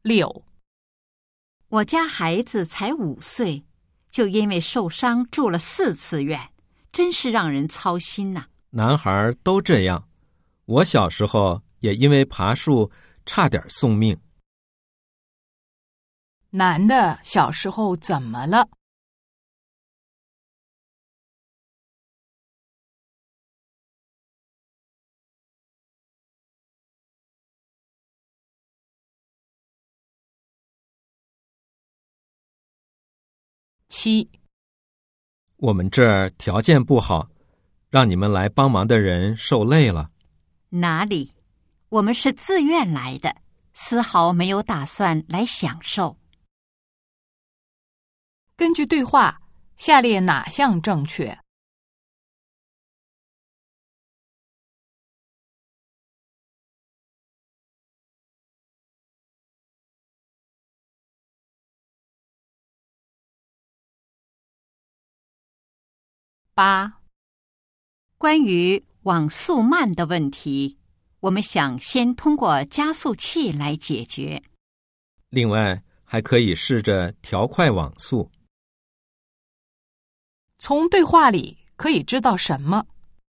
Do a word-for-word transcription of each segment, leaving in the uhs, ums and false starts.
六， 我家孩子才五岁，就因为受伤住了四次院，真是让人操心呐。 男孩都这样，我小时候也因为爬树差点送命。 男的小时候怎么了？七， 我们这儿条件不好，让你们来帮忙的人受累了。 哪里，我们是自愿来的，丝毫没有打算来享受。 根据对话，下列哪项正确？八， 关于网速慢的问题，我们想先通过加速器来解决。 另外，还可以试着调快网速。 从对话里可以知道什么？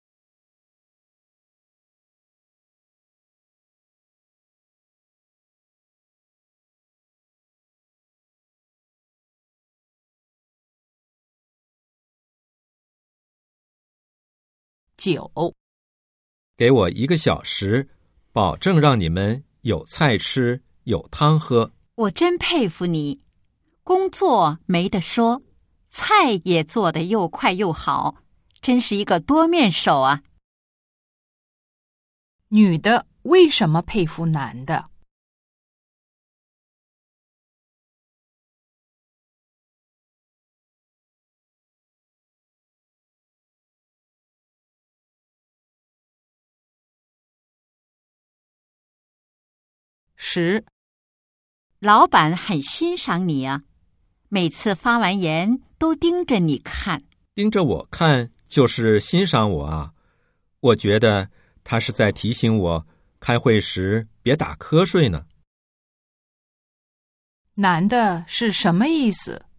九， 给我一个小时，保证让你们有菜吃，有汤喝。 我真佩服你，工作没得说，菜也做得又快又好，真是一个多面手啊。 女的为什么佩服男的？十， 老板很欣赏你啊，每次发完言都盯着你看。 盯着我看就是欣赏我啊？我觉得他是在提醒我开会时别打瞌睡呢。 男的是什么意思？